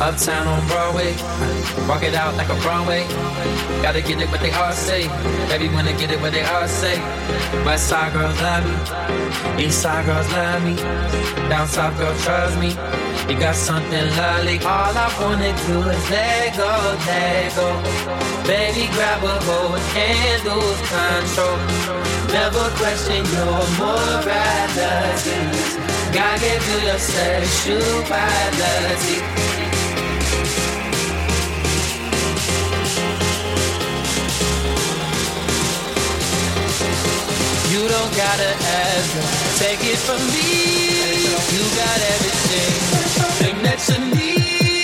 Uptown on Broadway, walk it out like a Broadway. Gotta get it what they all say. Baby wanna get it what they all say. West side girls love me, east side girls love me, down south girls trust me. You got something lovely. All I wanna do is let go, let go. Baby grab a hold and lose control. Never question your morality. God gave you your sexuality. You don't gotta ask her, take it from me. You got everything that you need.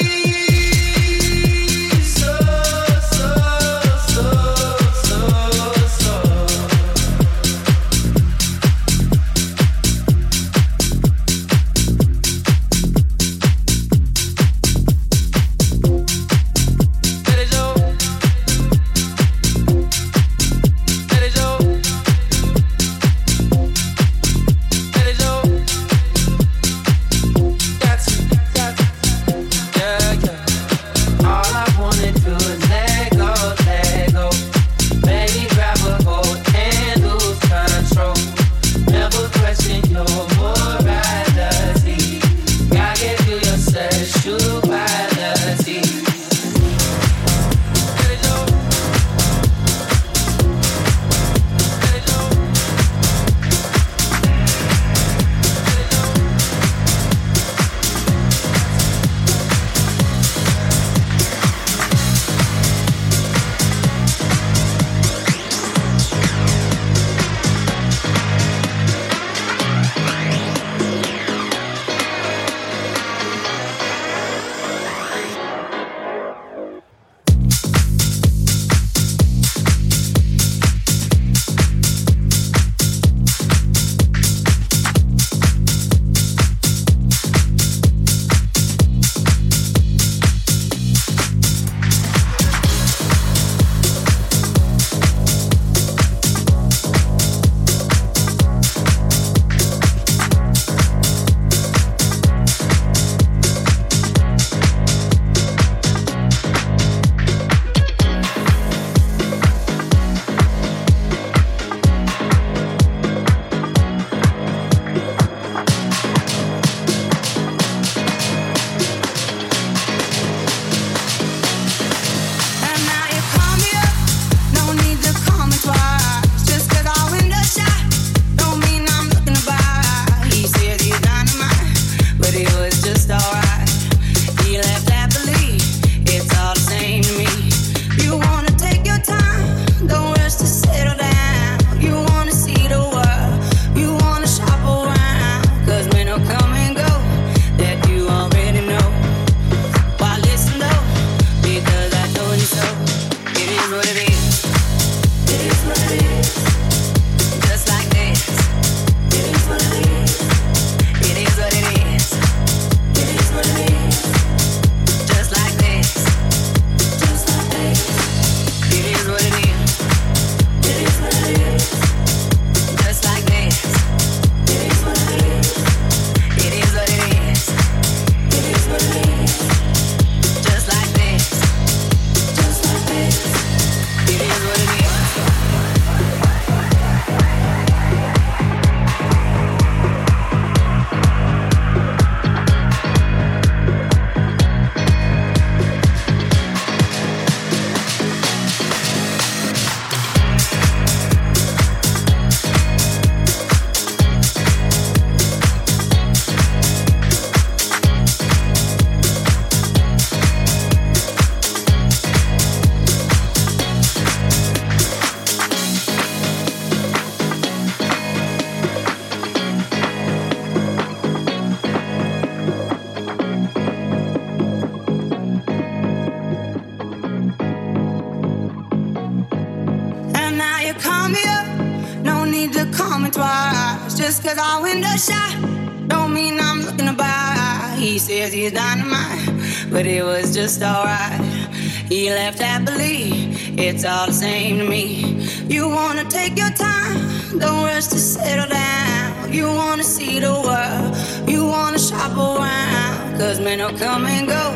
Just cause our window shot don't mean I'm looking to buy. He says he's dynamite, but it was just alright. He left happily, it's all the same to me. You wanna take your time, don't rush to settle down. You wanna see the world, you wanna shop around. Cause men will come and go,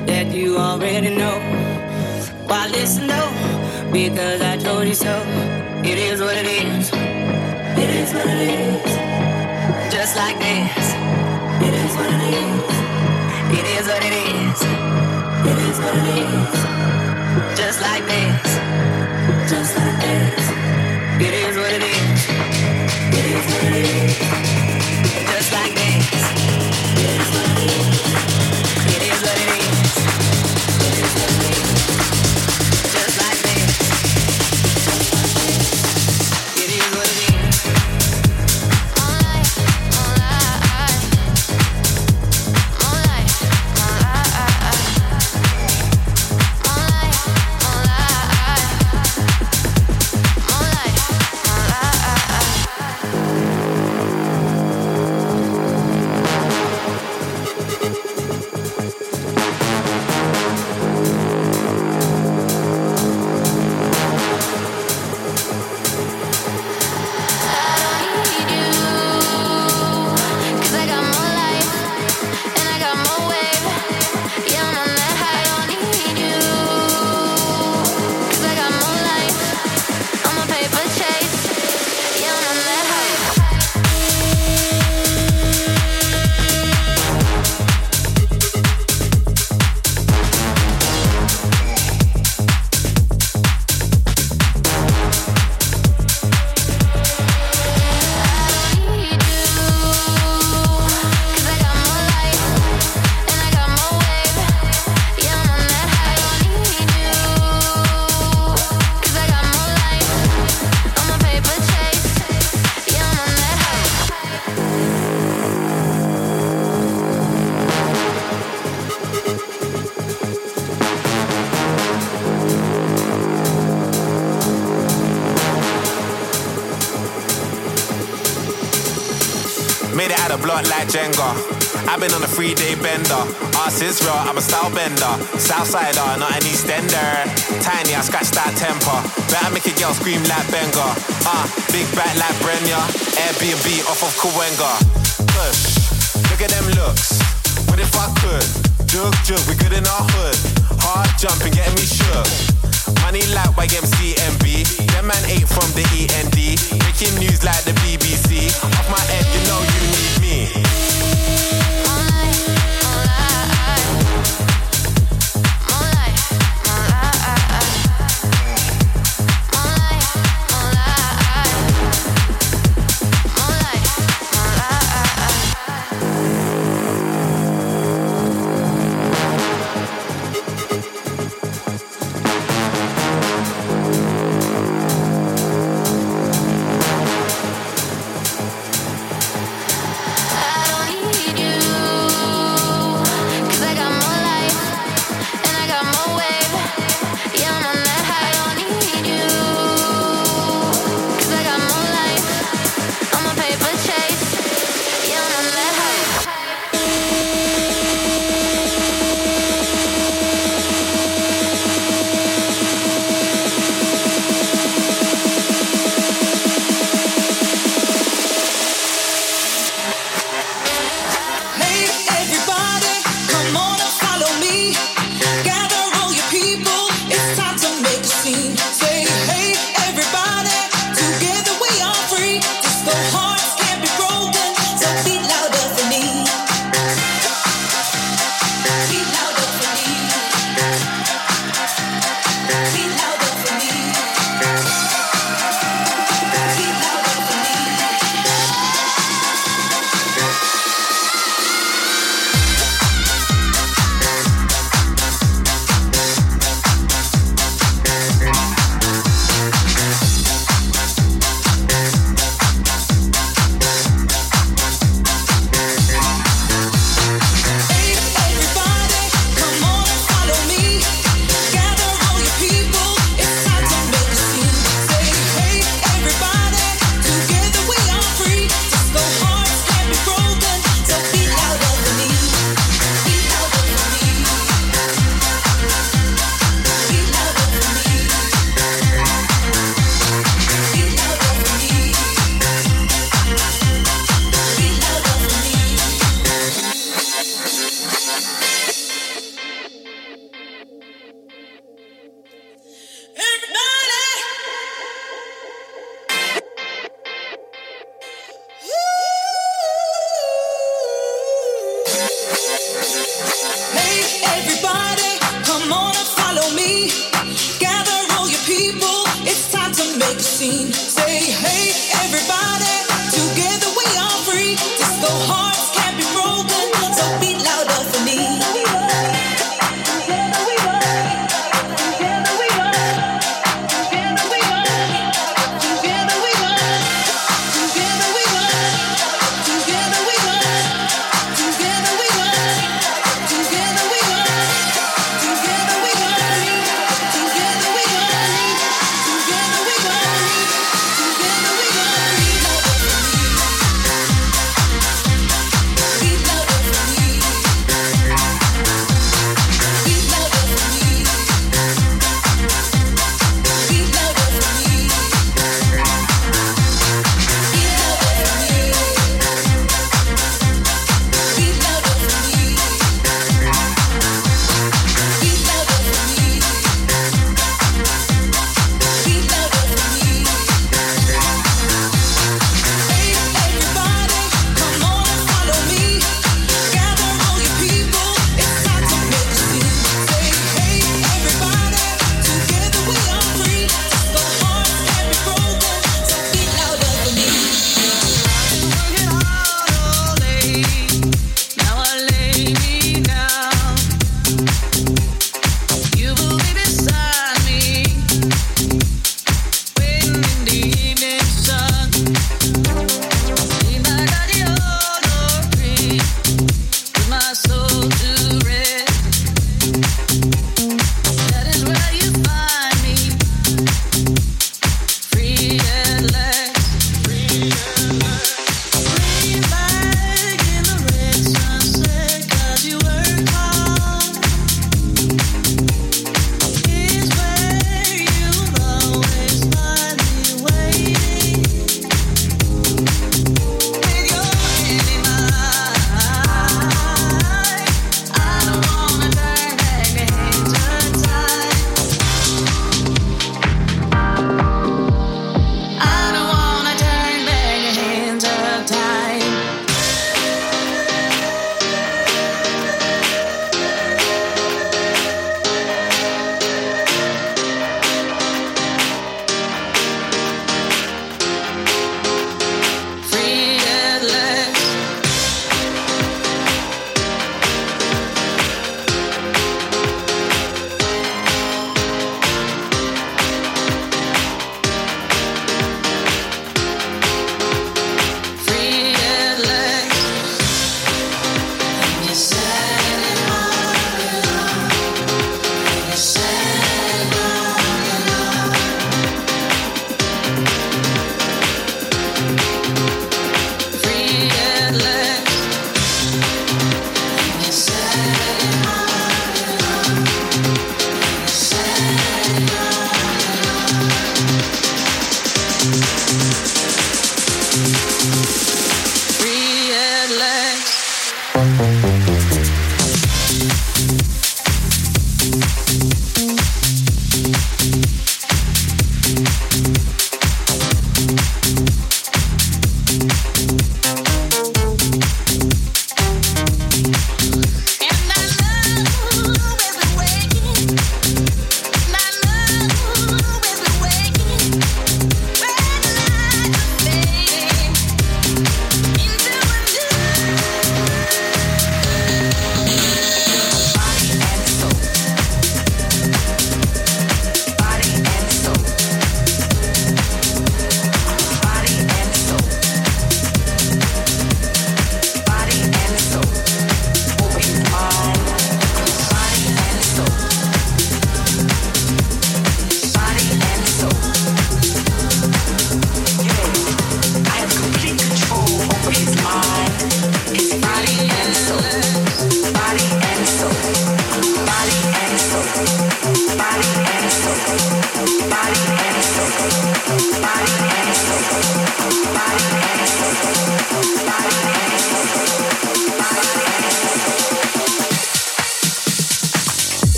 that you already know. Why listen though? Because I told you so. It is what it is. It is what it is. Just like this. It is what it is. It is what it is. It is what it is. Just like this. Just like this. It is what it is. It is what it is. Just like this. It is what it is. It is what it is. It is what it is. Just like this. It is what it is. Like Jenga, I've been on a 3-day bender. Arse is real, I'm a style bender. Southsider, not an Eastender. Tiny, I scratch that temper. Better make a girl scream like Benga. Big back like Brenya. Airbnb off of Kawenga. Push, look at them looks. What if I could? Jug, we good in our hood. Hard jumping, getting me shook. Money like YMCMB. Them man ate from the END. Breaking news like the BBC. Off my head, you know you need me. scene. Say, hey, everybody, together we are free. Disco hearts can't be broken, so beat louder for me. Together we are, together we are, together we are, together we are, together we are, together we are, together we are, together we are, together we are, together we are. Together we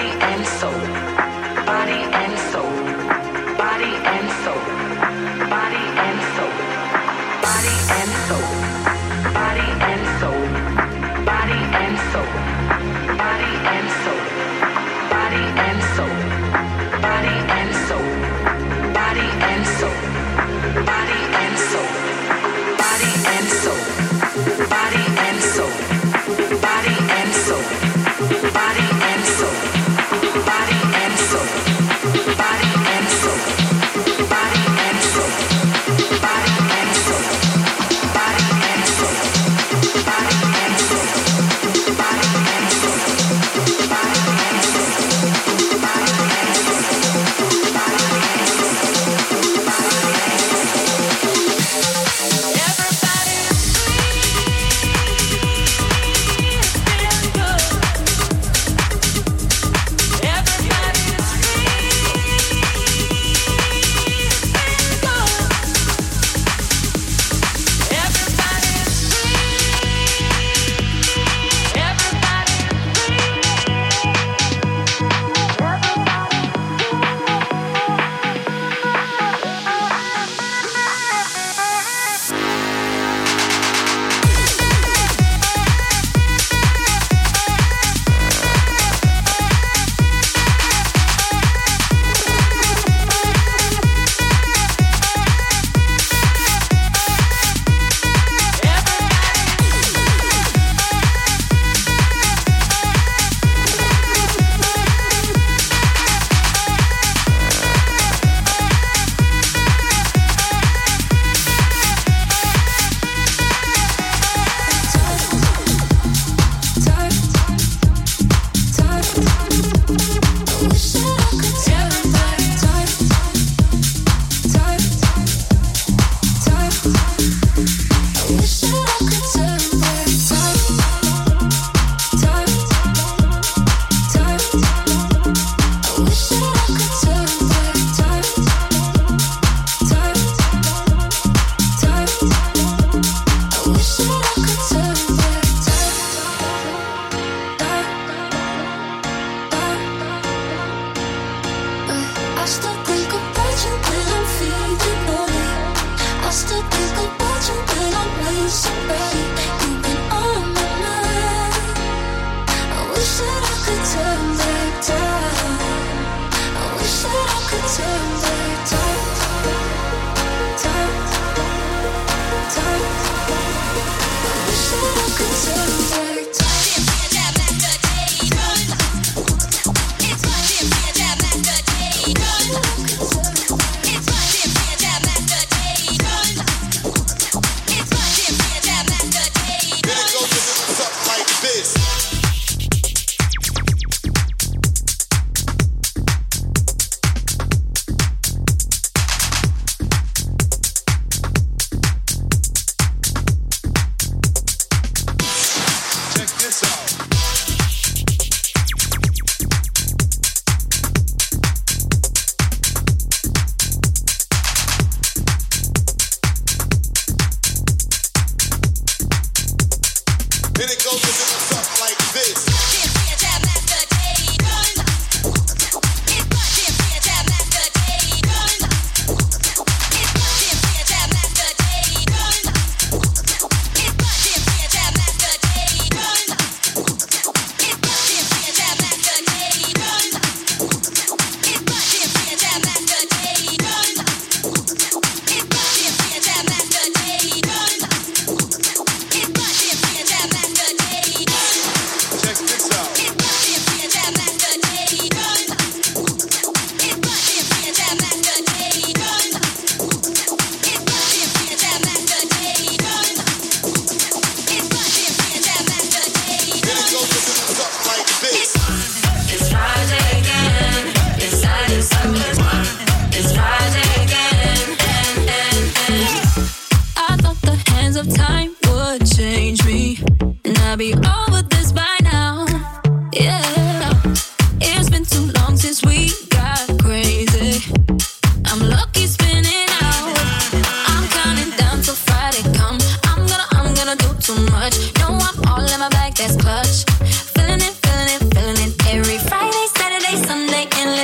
Master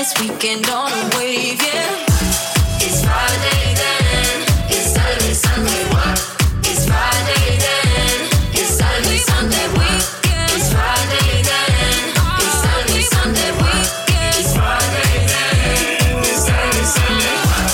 this weekend on a wave, yeah. It's Friday then, it's Saturday, Sunday, what? It's Friday then, it's Saturday, Sunday, weekend. It's Friday then, it's Saturday, Sunday, weekend. It's Friday then, it's Saturday, Sunday, what?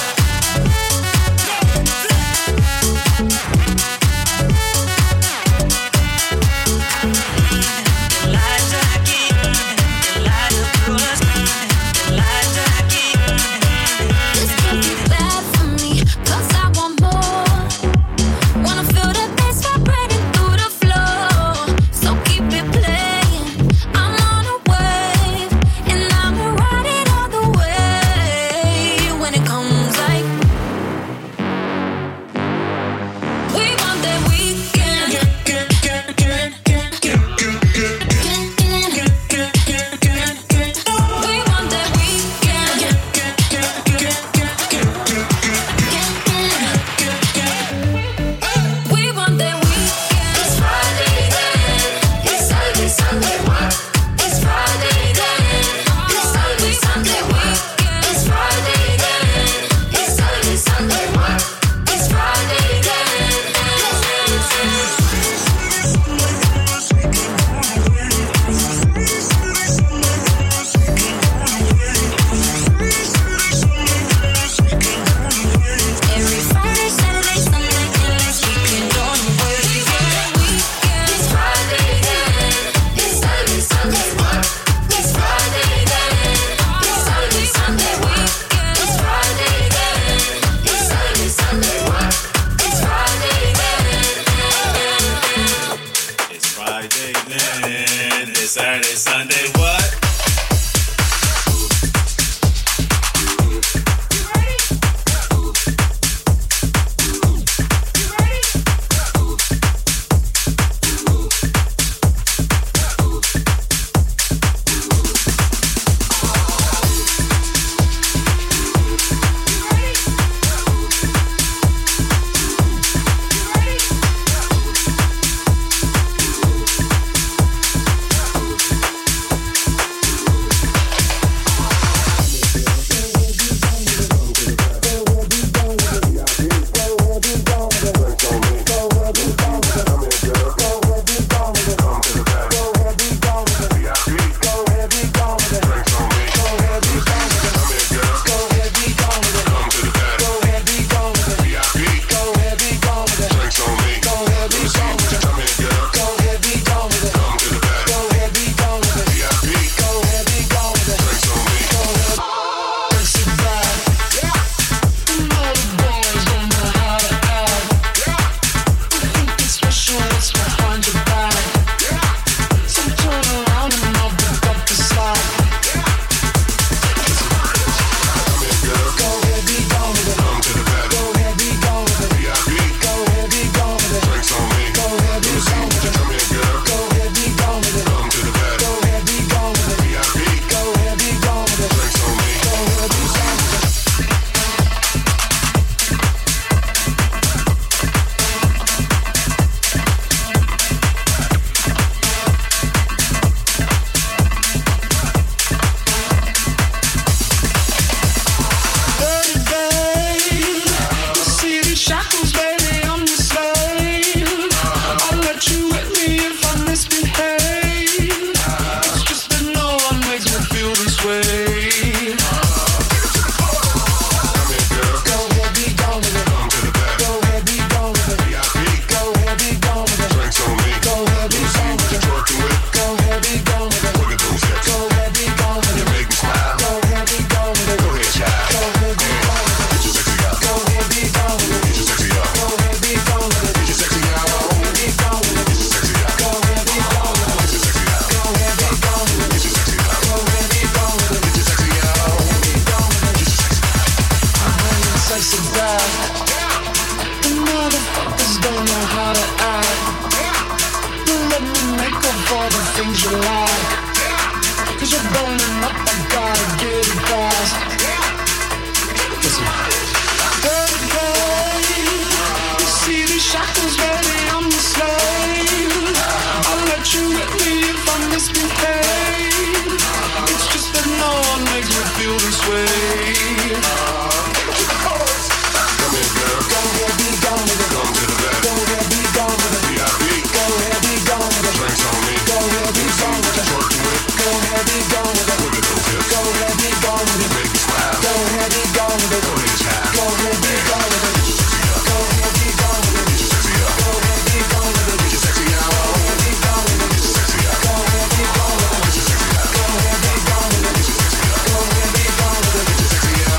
Saturday, Sunday, what? Misbehave. It's just that no one makes me feel feel this way. Come here, girl. Go ahead, be gone with it. Come to the back. Go ahead, be gone with it. VIP. Go ahead, be gone with it. Drinks on me. Go ahead, be gone with it. Twerking with. Go ahead, be gone with it. Look at those hips. Go ahead, be gone with it. Make me smile. Go ahead, be gone with it. Go ahead, child. Go ahead, be gone with it. Go ahead, be gone with it. Get your sexy up. Go ahead, be gone with it. Get your sexy out. Go ahead, be gone with it. Get your sexy up. Go ahead, be gone with it. Get your sexy out. Go ahead, be gone with it. Get your sexy up. Go ahead, be gone with it. Get your sexy out.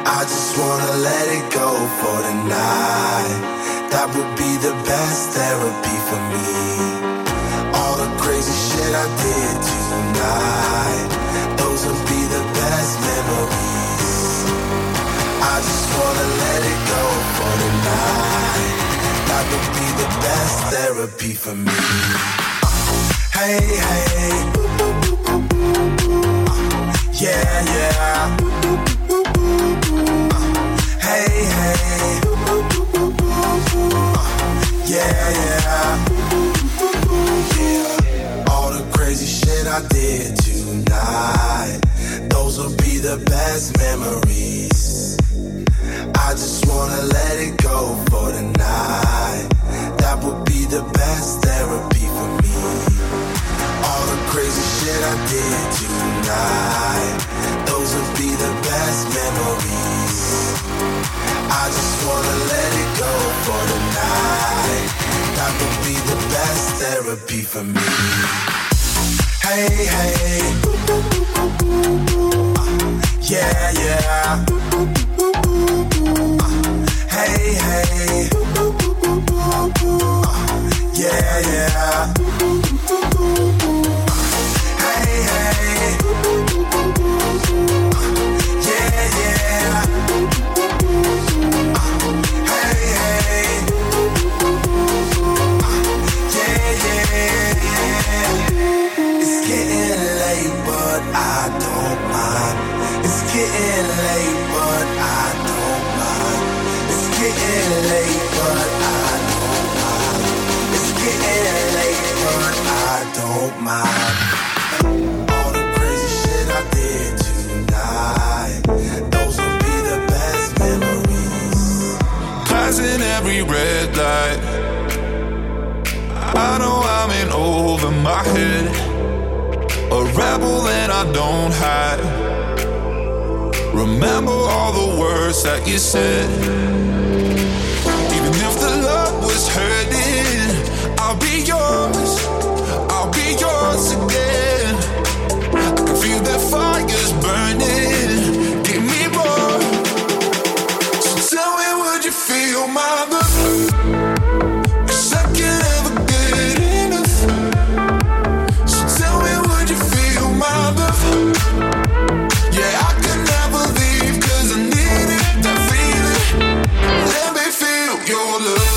I just wanna let it go for the night. That would be the best therapy for me. All the crazy shit I did tonight, those would be the best memories. I just wanna let it go for the night. That would be the best therapy for me. Hey, hey, yeah, yeah. Hey, hey, yeah, yeah. All the crazy shit I did tonight, those will be the best memories. I just wanna let it go for the night. That would be the best therapy for me. All the crazy shit I did tonight, those will be the best memories. I just wanna let it go for the night. That would be the best therapy for me. Hey, hey, yeah, yeah. Hey, hey, yeah, yeah. Hey, hey, yeah, yeah. Hey, hey, yeah, yeah. It's getting late, but I don't mind. It's getting late, but I don't mind. It's getting late, but I don't mind. It's getting late, but I don't mind. All the crazy shit I did tonight, those will be the best memories. Passing every red light, I know I'm in over my head. A rebel and I don't hide. Remember all the words that you said. Even if the love was hurting, I'll be yours. I'll be yours again. I can feel that fire's burning. Give me more. So tell me, would you feel my love? 'Cause I can't ever get enough. So tell me, would you feel my love? Yeah, I can never leave 'cause I need it, that feeling. Let me feel your love.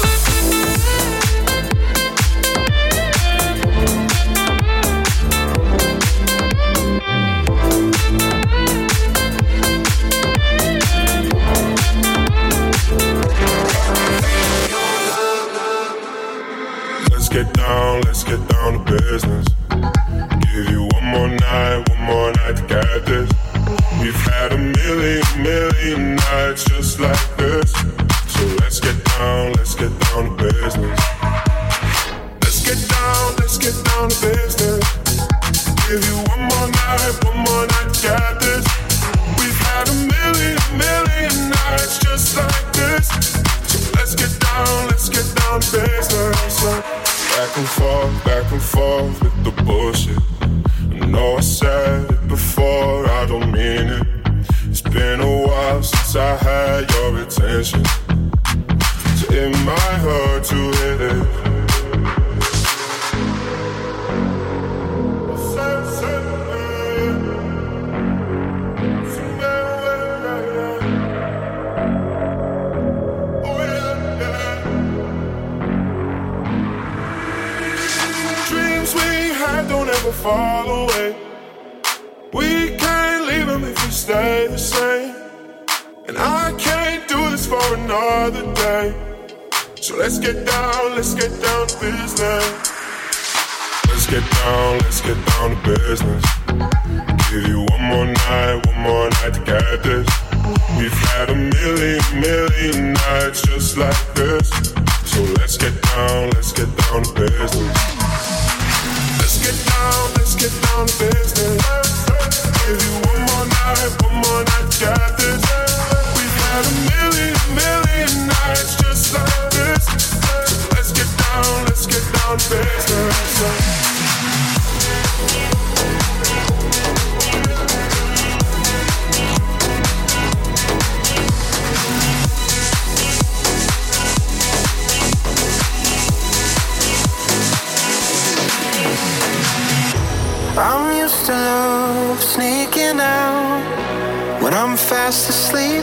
Let's get down to business. Give you one more night to get this. We've had a million nights just like this. So let's get down to business. Let's get down to business. Give you one more night to get this. We've had a million nights just like this. So let's get down to business. Back and forth with the bullshit. I know I said it before, I don't mean it. It's been a while since I had your attention, so it might hurt to hit it. Don't ever fall away. We can't leave them if we stay the same. And I can't do this for another day. So let's get down to business. Let's get down to business. Give you one more night to get this. We've had a million nights just like this. So let's get down to business. Let's get down to business. Give you one more night, got this. We've had a million nights just like this. So let's get down to business. sneaking out when I'm fast asleep.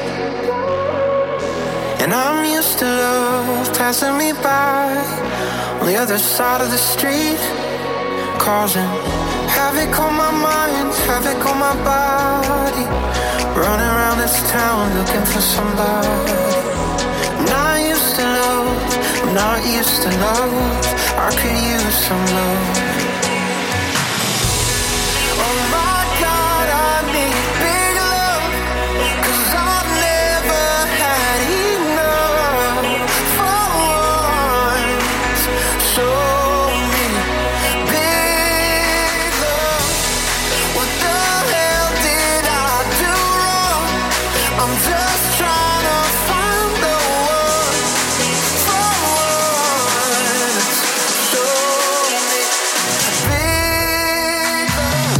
And I'm used to love passing me by on the other side of the street, causing havoc on my mind, havoc on my body. Running around this town looking for somebody. I'm not used to love, I'm not used to love. I could use some love. Oh my God, I need big love, 'cause I've never had enough for once. Show me big love. What the hell did I do wrong? I'm just trying to find the one for once. Show me big love.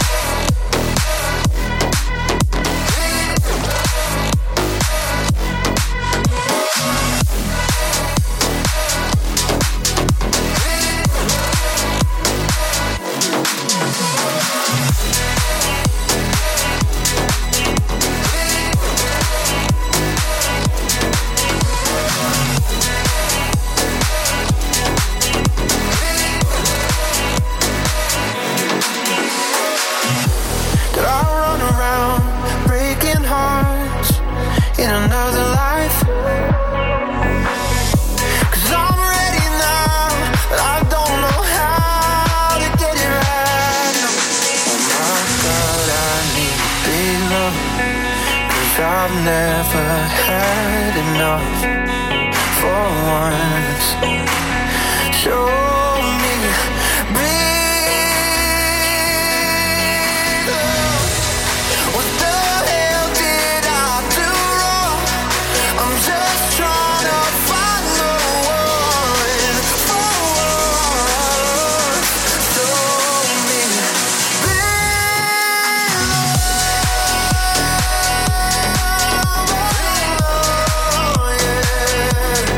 Did I run around breaking hearts in another life? 'Cause I'm ready now, but I don't know how to get it right. Oh my God, I need big love, 'cause I've never had enough for once. Show me big love. What the hell did I do wrong? I'm just trying to find the one for once. Show me big love, yeah.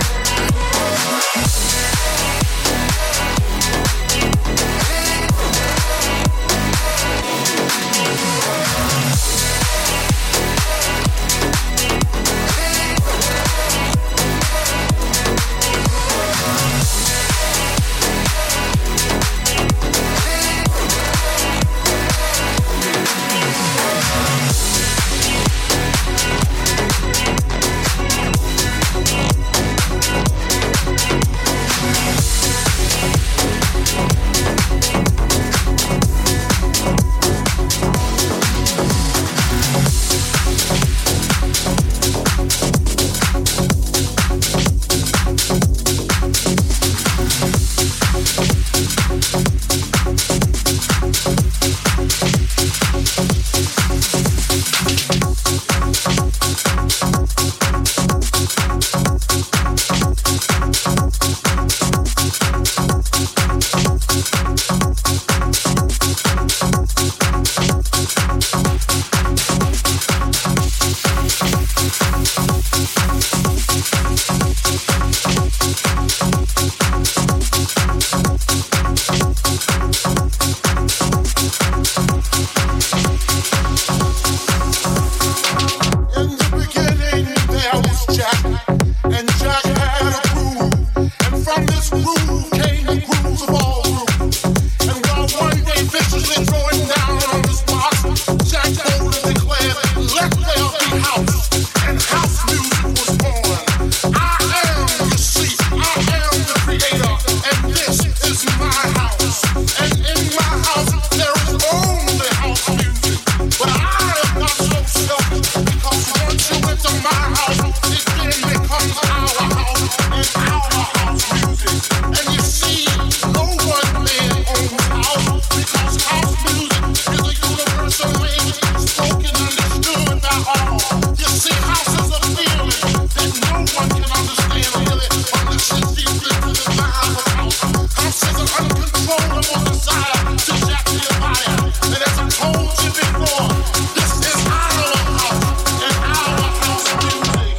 In the beginning there was Jack, and Jack had a groove, and from this groove came the grooves of all grooves. And while one day viciously throwing down on his box, Jack boldly declared, "Let there be house," and house music was born. I am, you see, I am the creator, and this is my house. And in my house there is only house music, but I am not so selfish, because once you enter my house, it then becomes our house and our house music. And you see, no one man owns house, because house music is a universal language spoken and understood by all. You see, house is a feeling that no one can understand really unless you deep into the vibe of house. House is an uncontrollable desire to jack your body. And as I told you before, this is our house and our house music.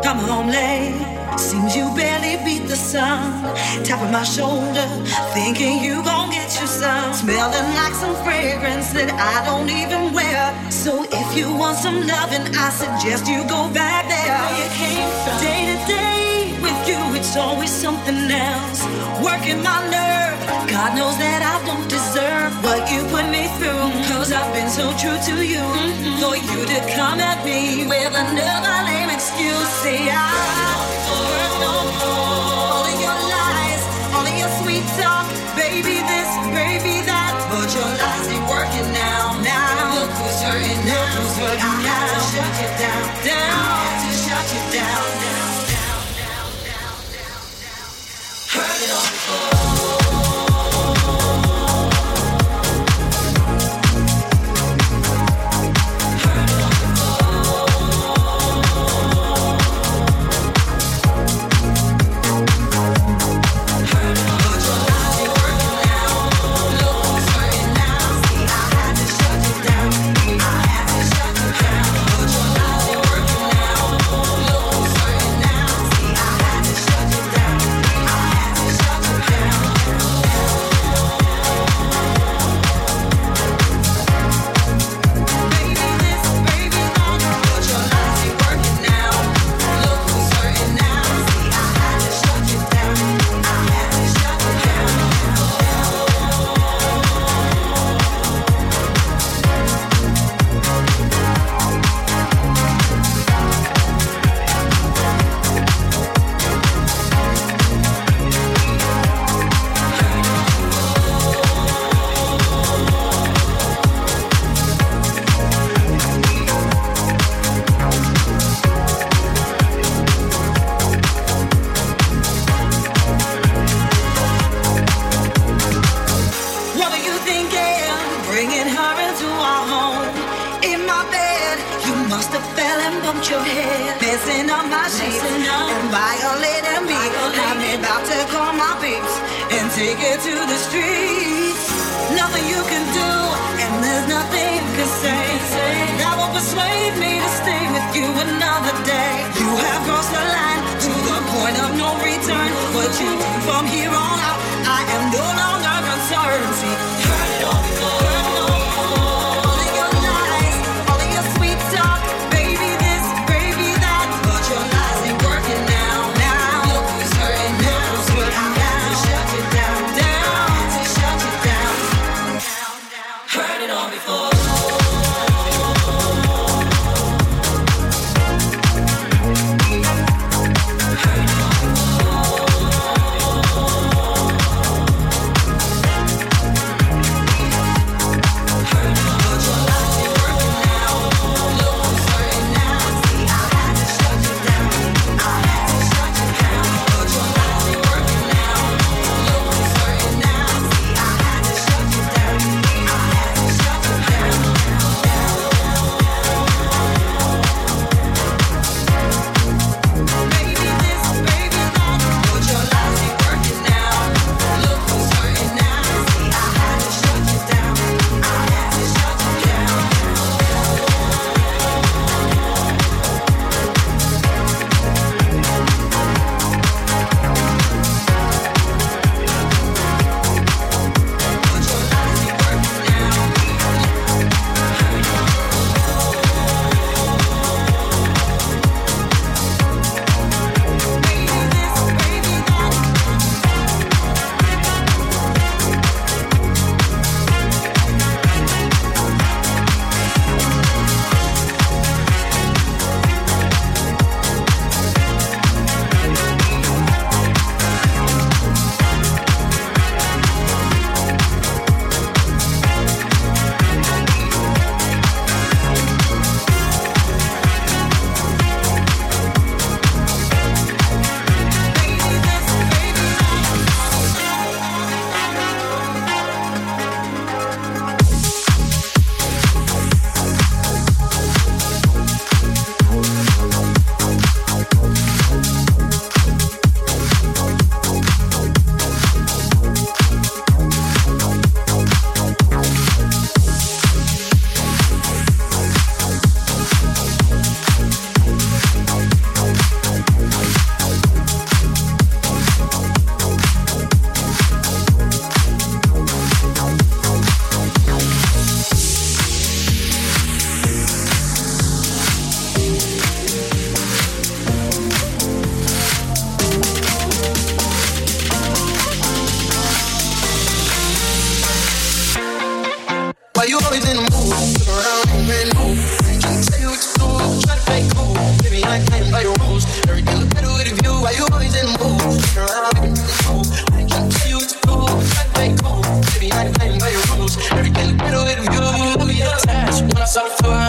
come home late. Seems you barely beat the sun. Tapping my shoulder, thinking you gon' get you some. Smelling like some fragrance that I don't even wear. So if you want some loving, I suggest you go back there. Where you came from. Day to day with you, it's always something else. Working my nerve, God knows that I don't deserve what you put me through. Cause I've been so true to you. For you to come at me with another lame excuse. Say I heard no more. All of your lies, all of your sweet talk. Baby this, baby that. But your lies ain't working now. Now look who's hurting now. Look who's hurting now. I had to shut you down, down. I had to shut you down, down, down, down, down, down, down. Heard it all before.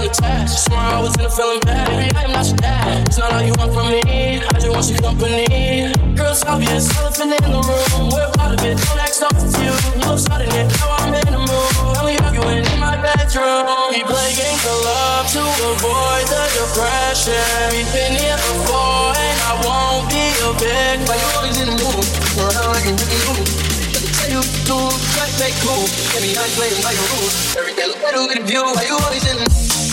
unattached. Swear I was in a feeling bad. Baby, I am not your dad. It's not all you want from me. I just want your company. Girls, obvious, elephant in the room. We're part of it. Don't act off with you. You love starting it. Now I'm in the mood. And we arguing in my bedroom. We play games of love to avoid the depression. We've been here before, and I won't be a bitch. But you always in the mood. Around like a really mood. You do, try to play cool. Get me nice, playing by your rules. Everything look better with a view. Why you always in?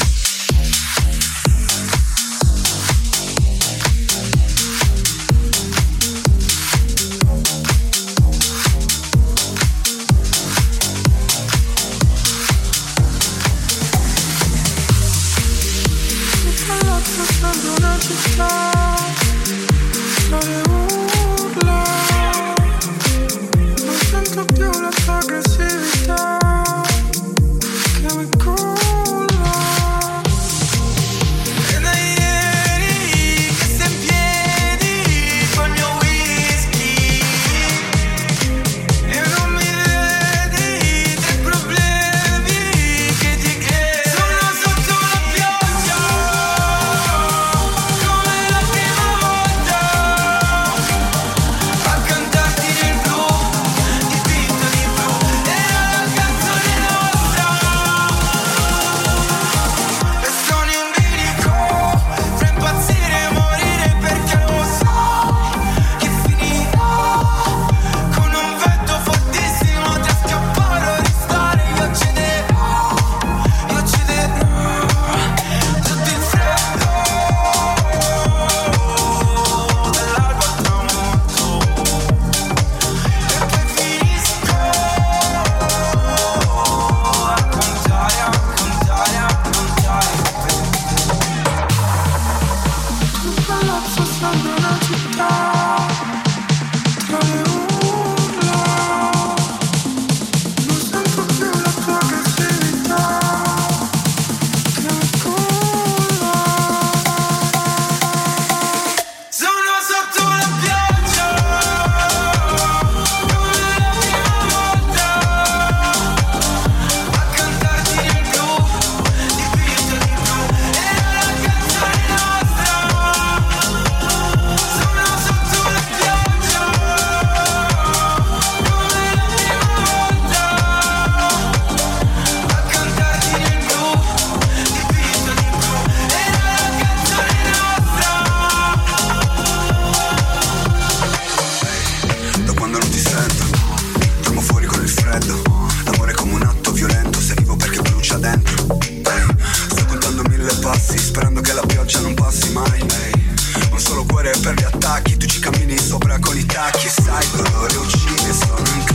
Sperando che la pioggia non passi mai. Un solo cuore per gli attacchi. Tu ci cammini sopra con i tacchi. Sai, dolore uccide, sono in